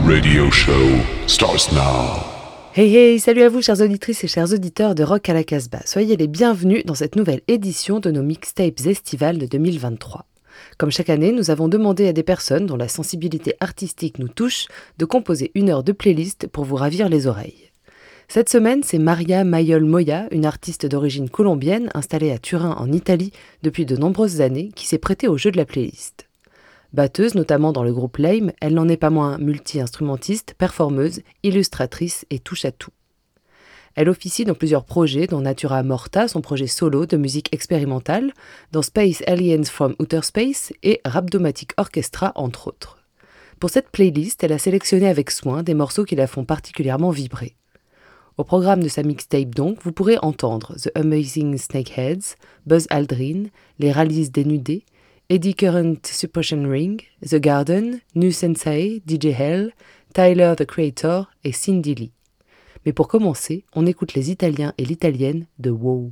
radio show starts now. Hey hey, salut à vous chères auditrices et chers auditeurs de Rock à la Casbah. Soyez les bienvenus dans cette nouvelle édition de nos mixtapes estivales de 2023. Comme chaque année, nous avons demandé à des personnes dont la sensibilité artistique nous touche de composer une heure de playlist pour vous ravir les oreilles. Cette semaine, c'est Maria Mayol Moya, une artiste d'origine colombienne installée à Turin en Italie depuis de nombreuses années, qui s'est prêtée au jeu de la playlist. Batteuse, notamment dans le groupe Lame, elle n'en est pas moins multi-instrumentiste, performeuse, illustratrice et touche-à-tout. Elle officie dans plusieurs projets, dont Natura Morta, son projet solo de musique expérimentale, dans Space Aliens from Outer Space et Rhabdomatic Orchestra, entre autres. Pour cette playlist, elle a sélectionné avec soin des morceaux qui la font particulièrement vibrer. Au programme de sa mixtape donc, vous pourrez entendre The Amazing Snakeheads, Buzz Aldrin, Les Rallies dénudés, Eddy Current Suppression Ring, The Garden, Nu Sensei, DJ Hell, Tyler the Creator et Cindy Lee. Mais pour commencer, on écoute les Italiens et l'Italienne de Wow.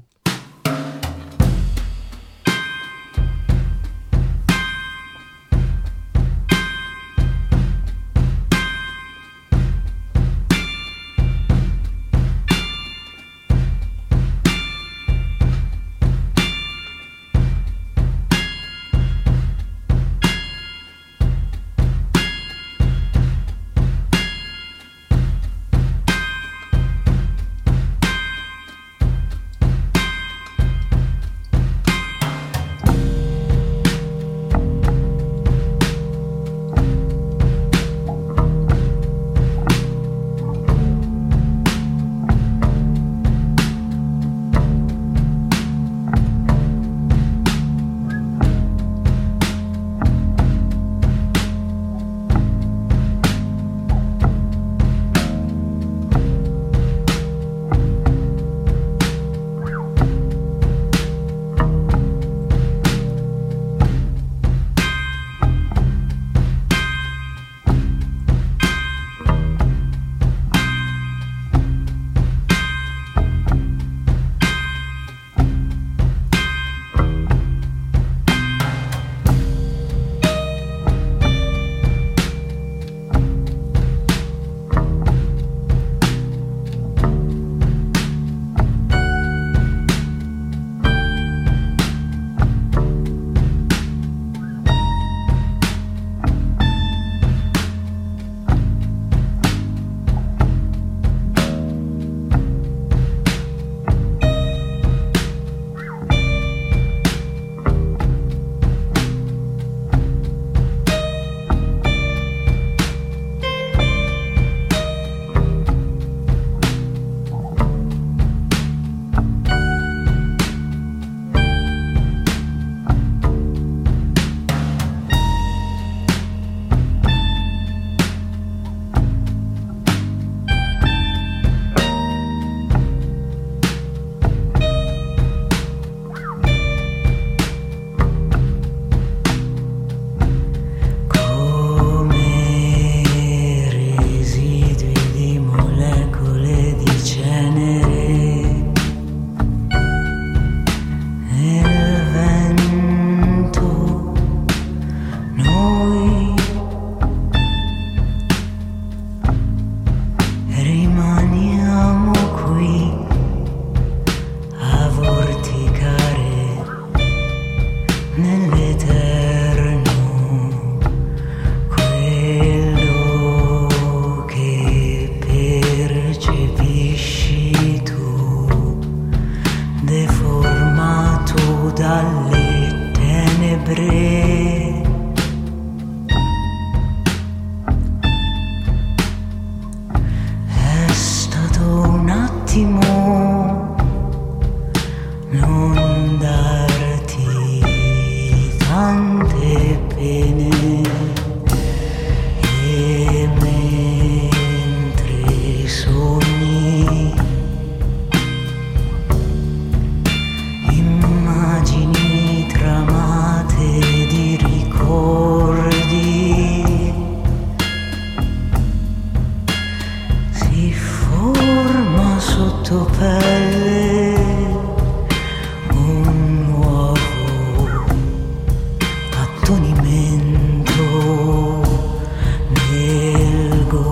Nel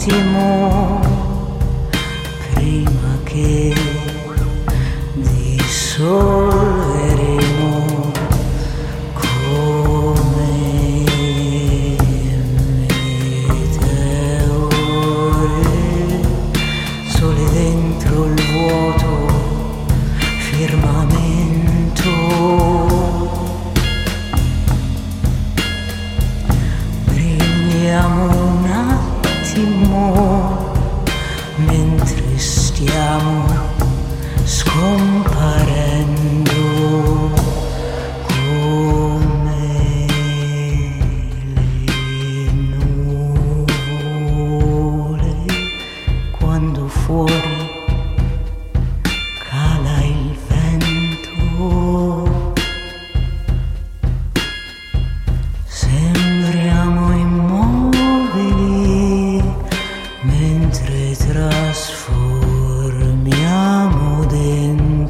attimo prima che dissolveremo come meteore, sole dentro il vuoto firmamento. Brilliamo un attimo mentre stiamo scomparendo come le nuvole quando fuori cala il vento. Sembriamo immobili mentre trasformiamo dentro.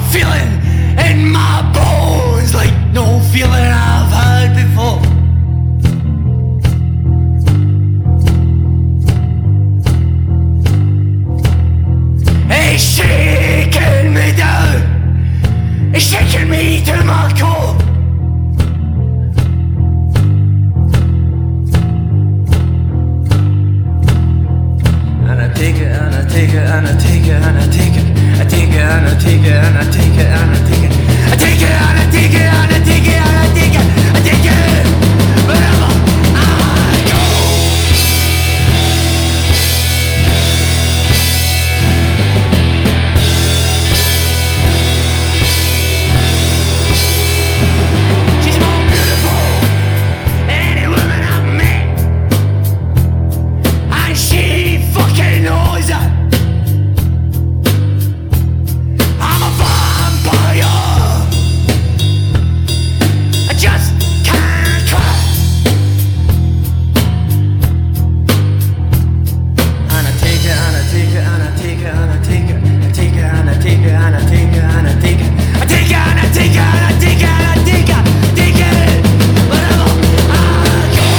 feeling in my bones, like no feeling I've had before. It's shaking me down, it's shaking me to my core. And I take it, and I take it, and I take it, and I take it, I take it, and I take it, and I take it, and I take it, I take it, and I take it, and I take it, and I take it, I take it, wherever I go. She's more beautiful than any woman I've met, and she fucking knows it. I'm a vampire, I just can't cry. And I take it, and I take it, and I take it, and I take it, I take it, and I take it, and I take it, and I take it, I take it, and I take it, and I take it, and I take it, take it, wherever I go.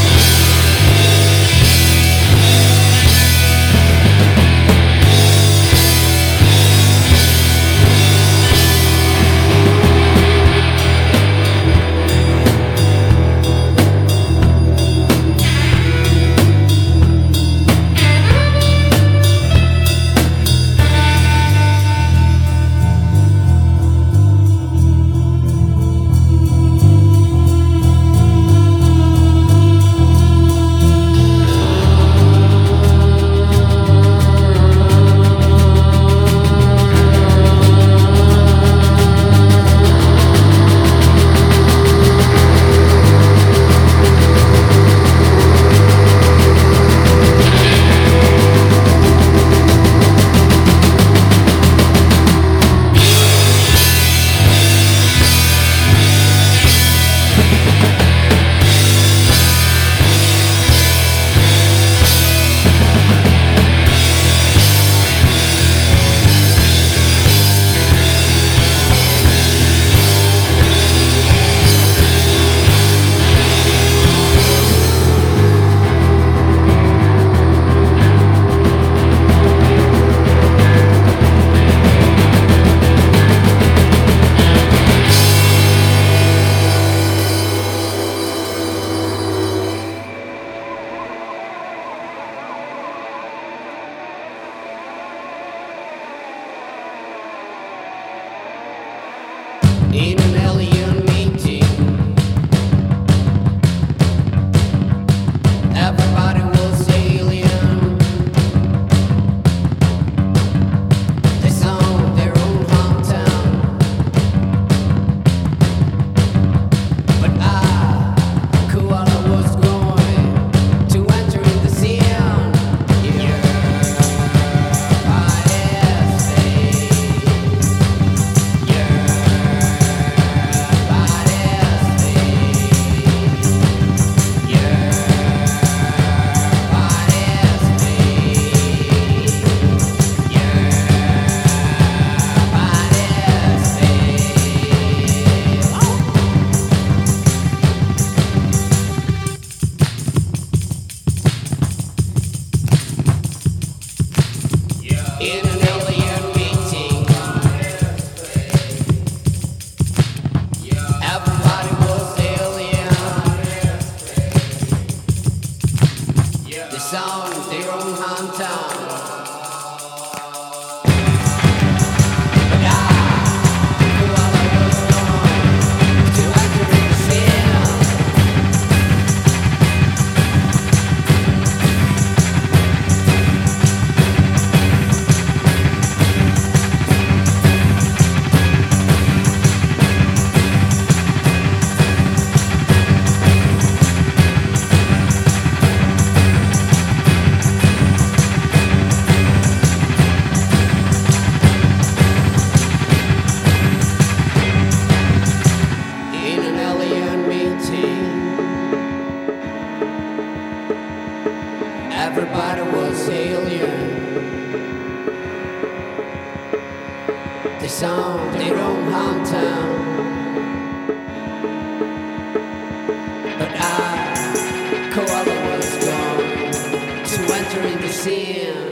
In an alien meeting, everybody was alien. They saw their own hometown, but Koala was going to enter in the scene. Yeah, the sound, their own hometown. But I, Koala was gone to enter in the scene.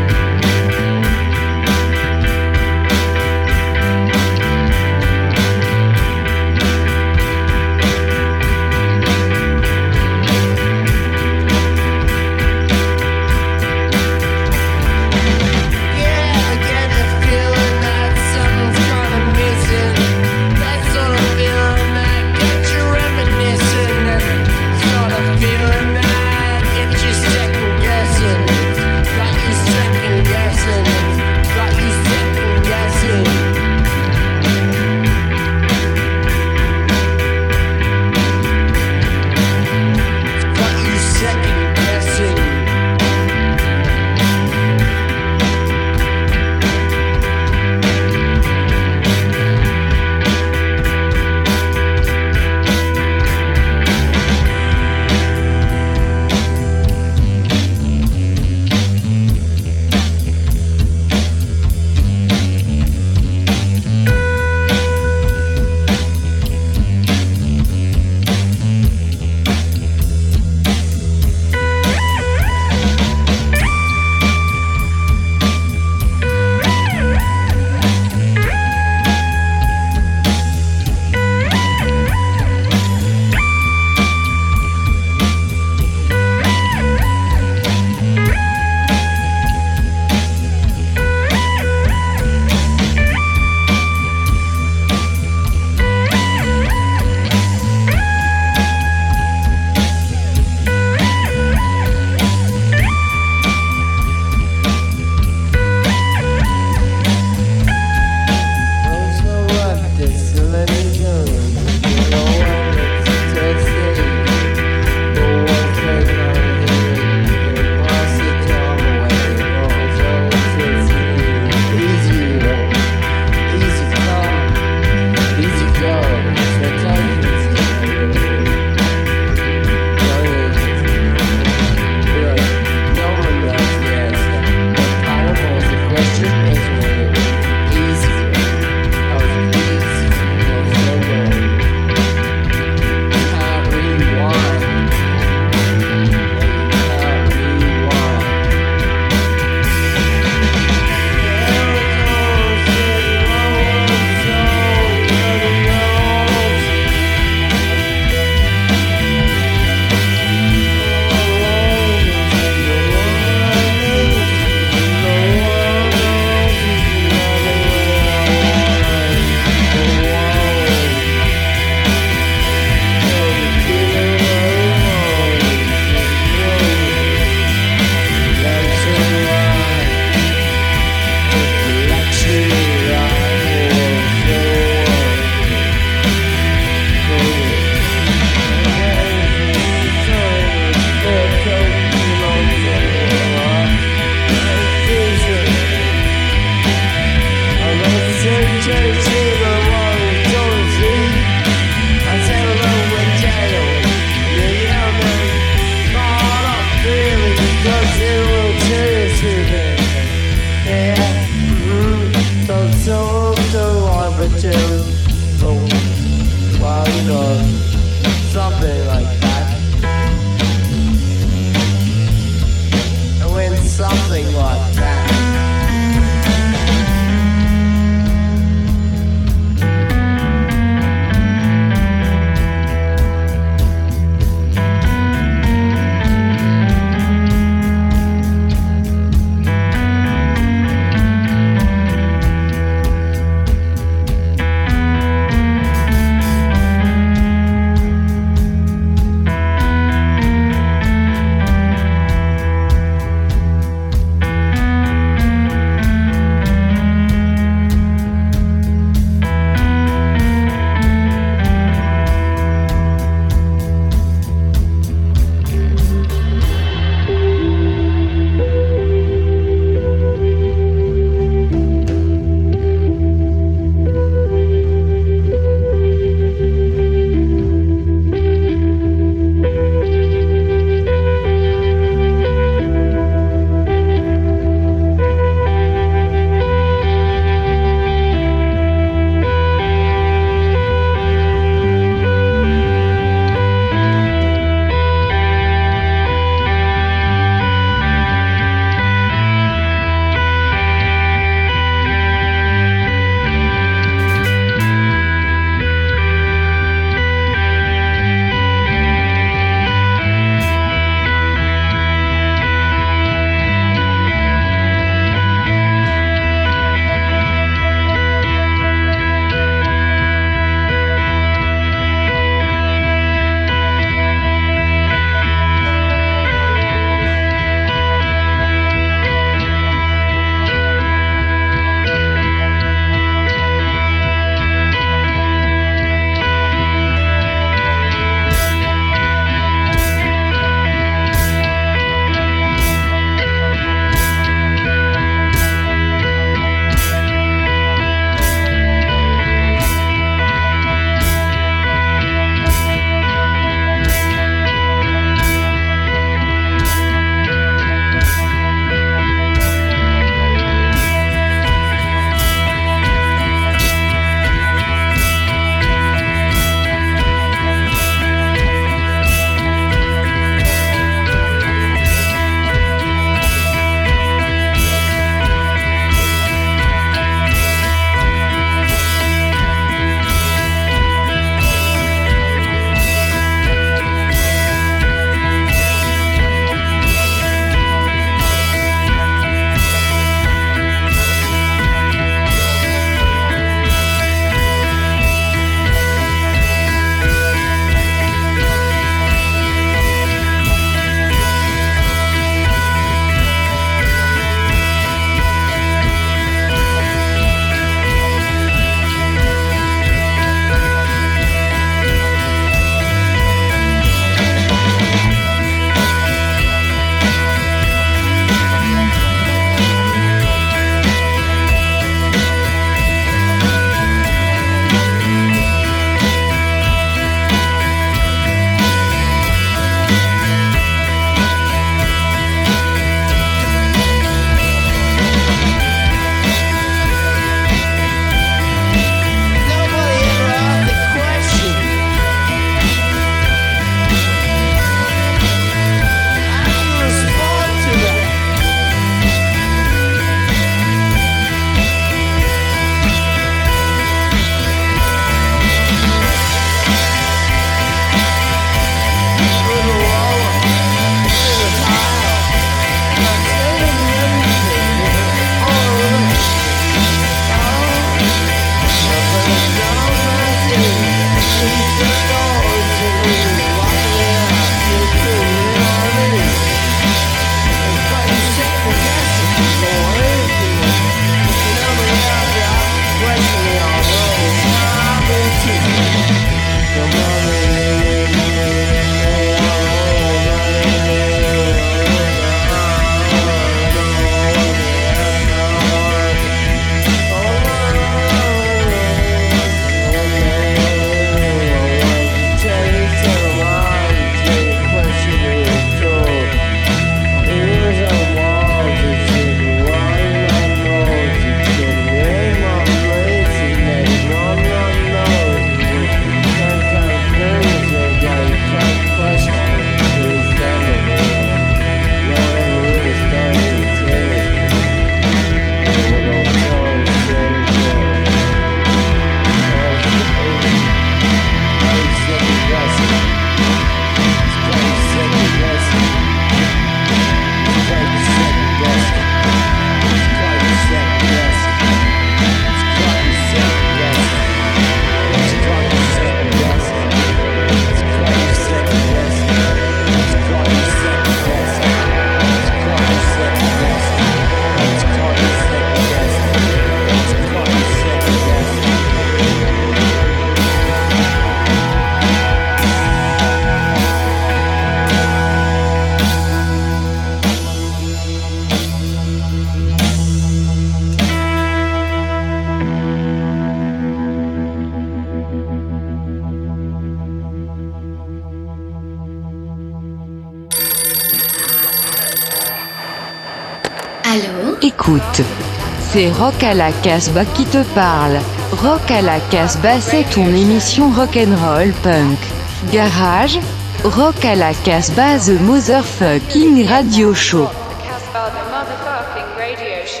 écoute. C'est Rock à la Casbah qui te parle. Rock à la Casbah, c'est ton émission rock'n'roll punk. Garage, Rock à la Casbah, the motherfucking radio show. Casbah, the motherfucking radio show.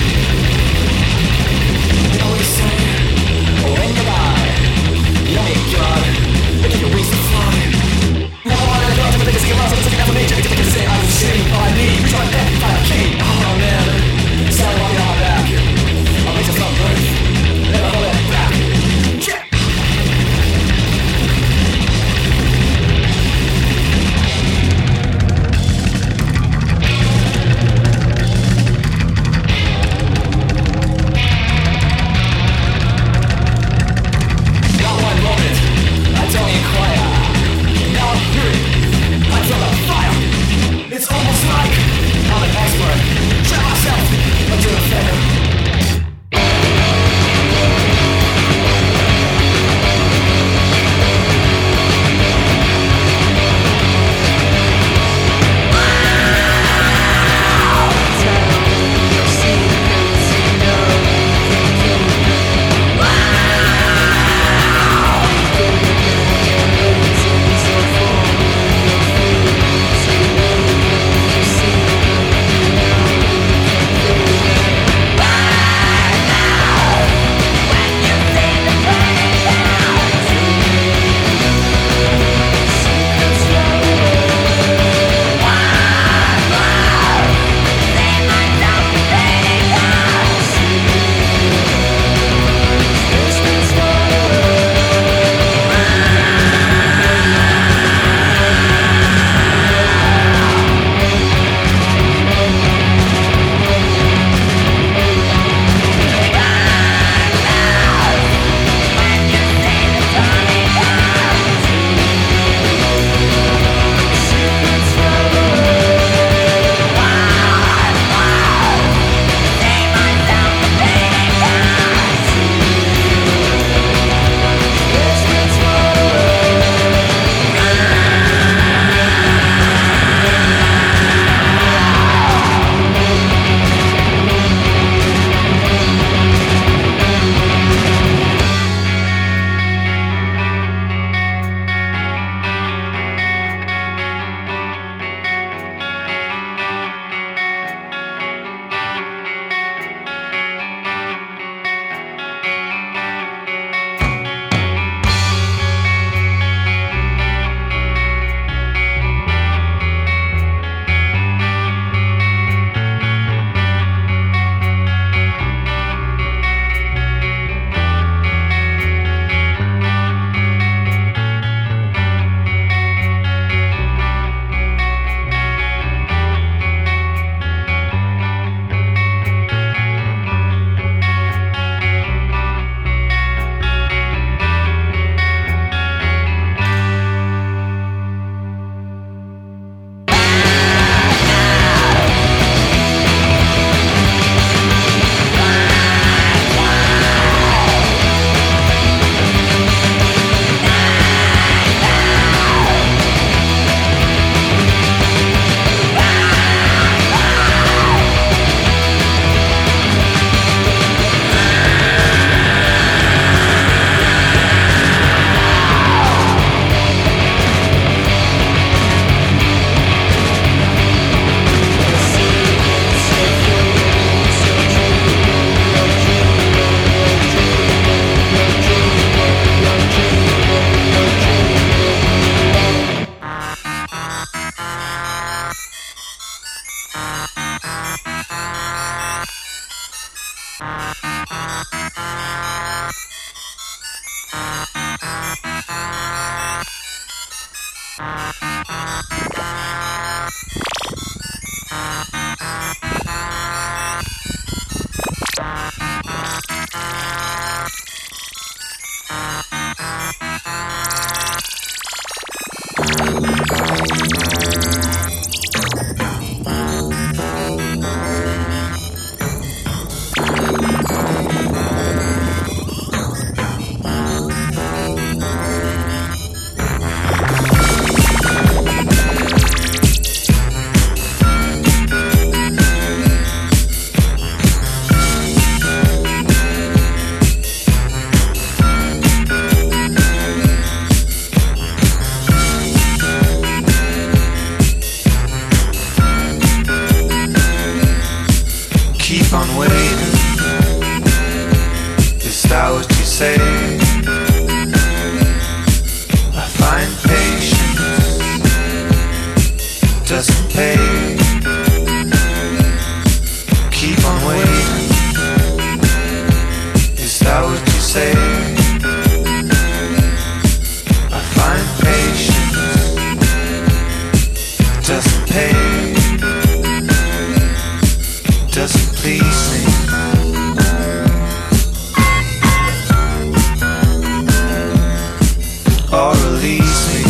When you buy, you make your doesn't pay. Keep on waiting. Is that what you say? I find patience doesn't pay. Doesn't please me. Or release me.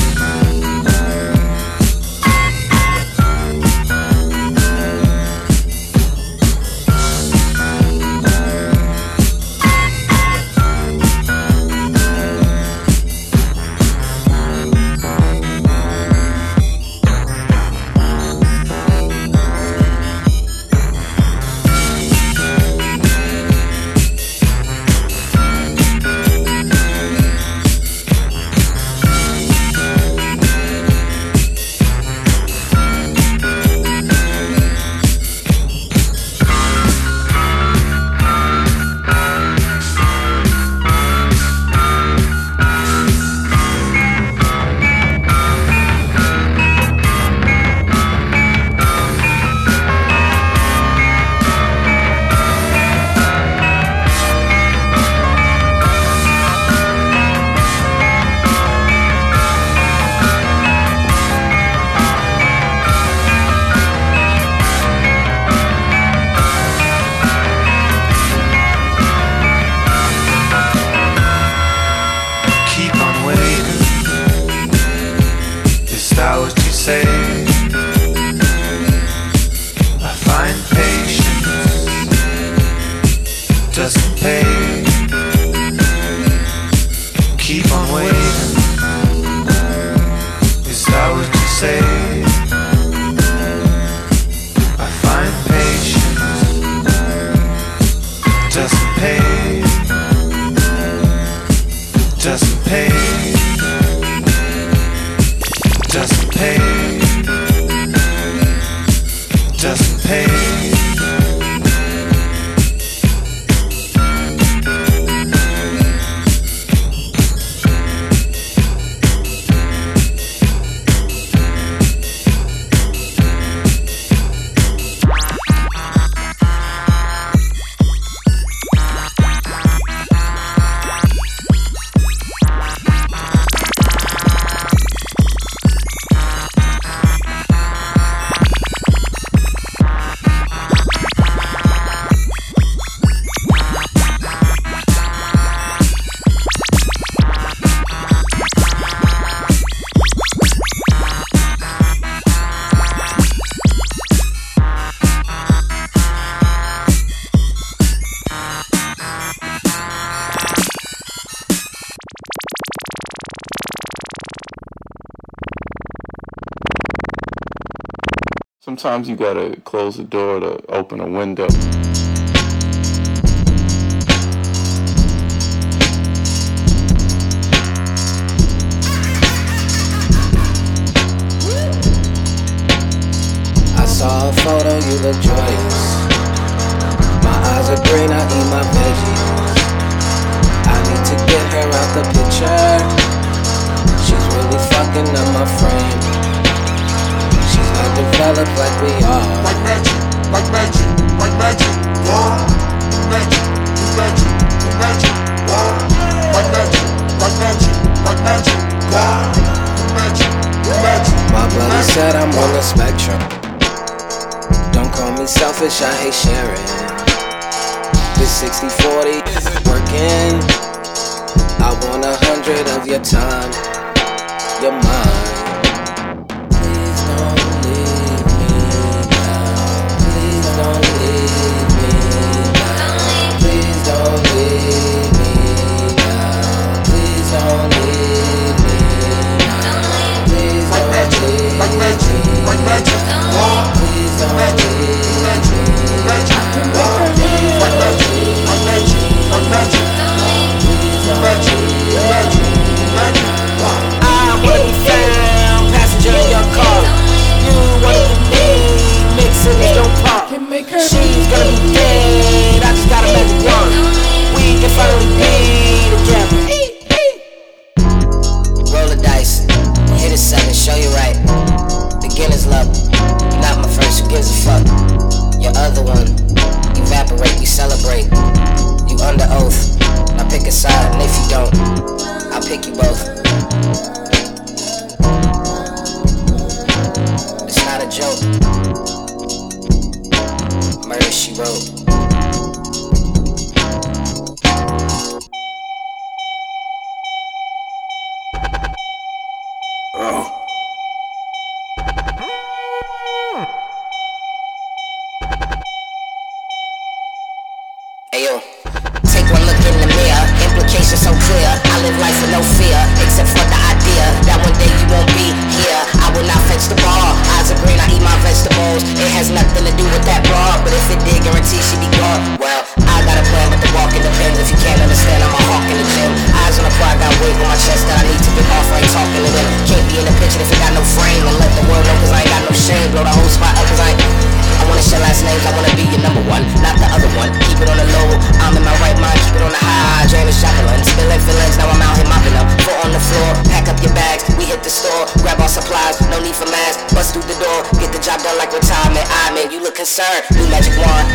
Sometimes you gotta close the door to open a window. I saw a photo, you look joyous. My eyes are green, I eat my veggies. I need to get her out the picture. She's really fucking up my frame. She's not developed like we are. Like magic, like magic, like magic, wow. Magic, magic, magic, wow. Like magic, like magic, like magic, wow. Magic, magic. My brother said I'm on the spectrum. Don't call me selfish, I hate sharing. This 60-40 isn't working. I want 100 of your time, your mind. Please don't leave me now. Please don't leave me now. Please don't leave me now. Please don't leave me now. Please don't leave me now. Like magic, like magic, wow. Please don't leave me now. Magic, wow. Like magic, like magic, like magic, magic, magic, magic, wow. I wanna be found, passenger in your car. You wanna be me, mix cities don't pop. She's gonna be dead, I just got a magic wand. We can finally be together. Roll the dice, hit a 7, show you right. Beginner's luck. gives a fuck? Your other one, evaporate, we celebrate. You under oath, now pick a side, and if you don't, I'll pick you both. It's not a joke. Murder, she wrote. Ayo, take one look in the mirror, implications so clear. I live life with no fear, except for the idea that one day you won't be here. I will not fetch the bar, eyes are green, I eat my vegetables. It has nothing to do with that broad, but if it did, guarantee she be gone. Well, I got a plan, but the walking depends. If you can't understand, I'm a hawk in the gym. Eyes on the prize, got weight on my chest that I need to get off. I ain't talking to them. Can't be in the picture if it got no frame. And let the world know, cause I ain't got no shame. Blow the whole spot up, cause I wanna share last names, I wanna be your number one, not the other one. Keep it on the low, I'm in my right mind, keep it on the high. Drain the Jacqueline, spilling feelings, now I'm out here mopping up. Foot on the floor, pack up your bags, we hit the store, grab our supplies, no need for masks. Bust through the door, get the job done like retirement. I mean, you look concerned, new magic wand.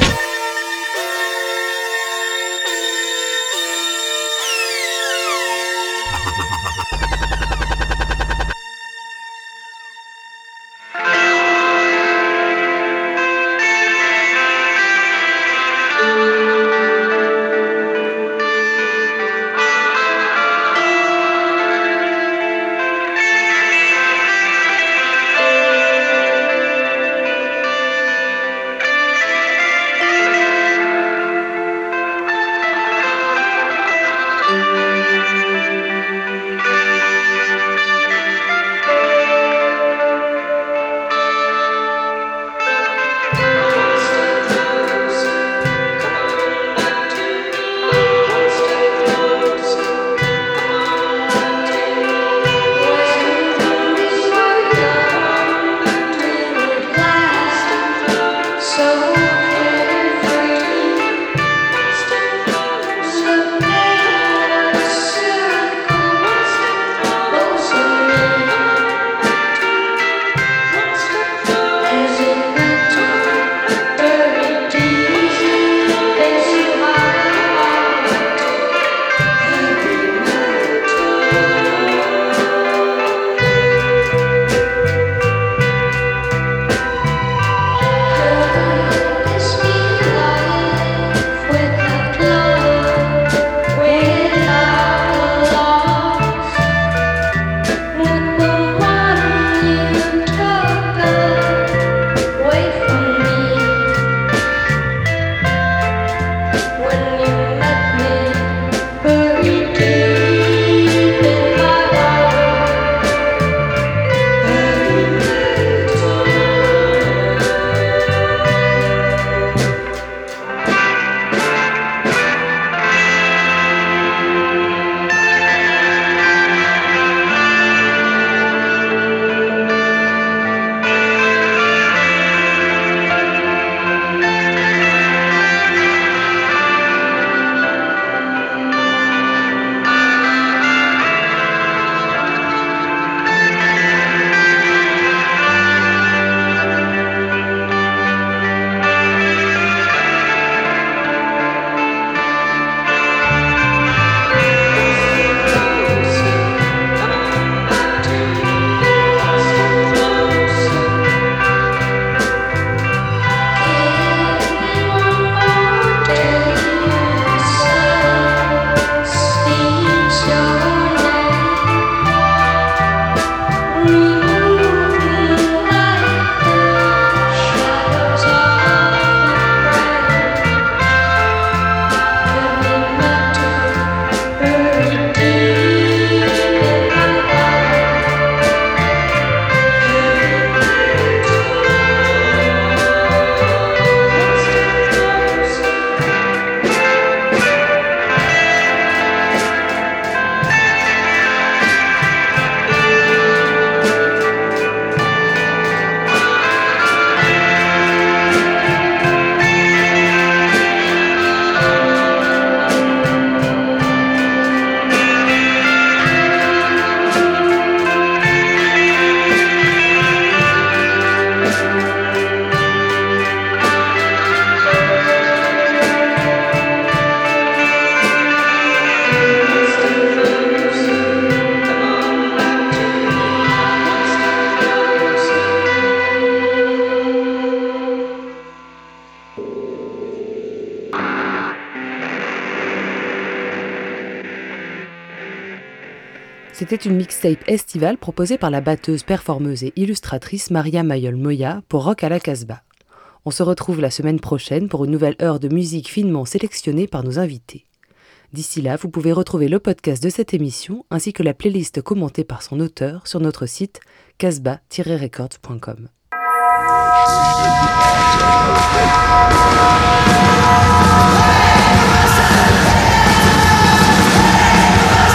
C'était une mixtape estivale proposée par la batteuse, performeuse et illustratrice Maria Mayol-Moya pour Rock à la Casbah. On se retrouve la semaine prochaine pour une nouvelle heure de musique finement sélectionnée par nos invités. D'ici là, vous pouvez retrouver le podcast de cette émission ainsi que la playlist commentée par son auteur sur notre site casbah-records.com.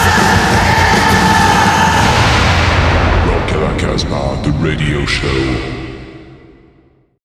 Rock à la Casbah, the radio show.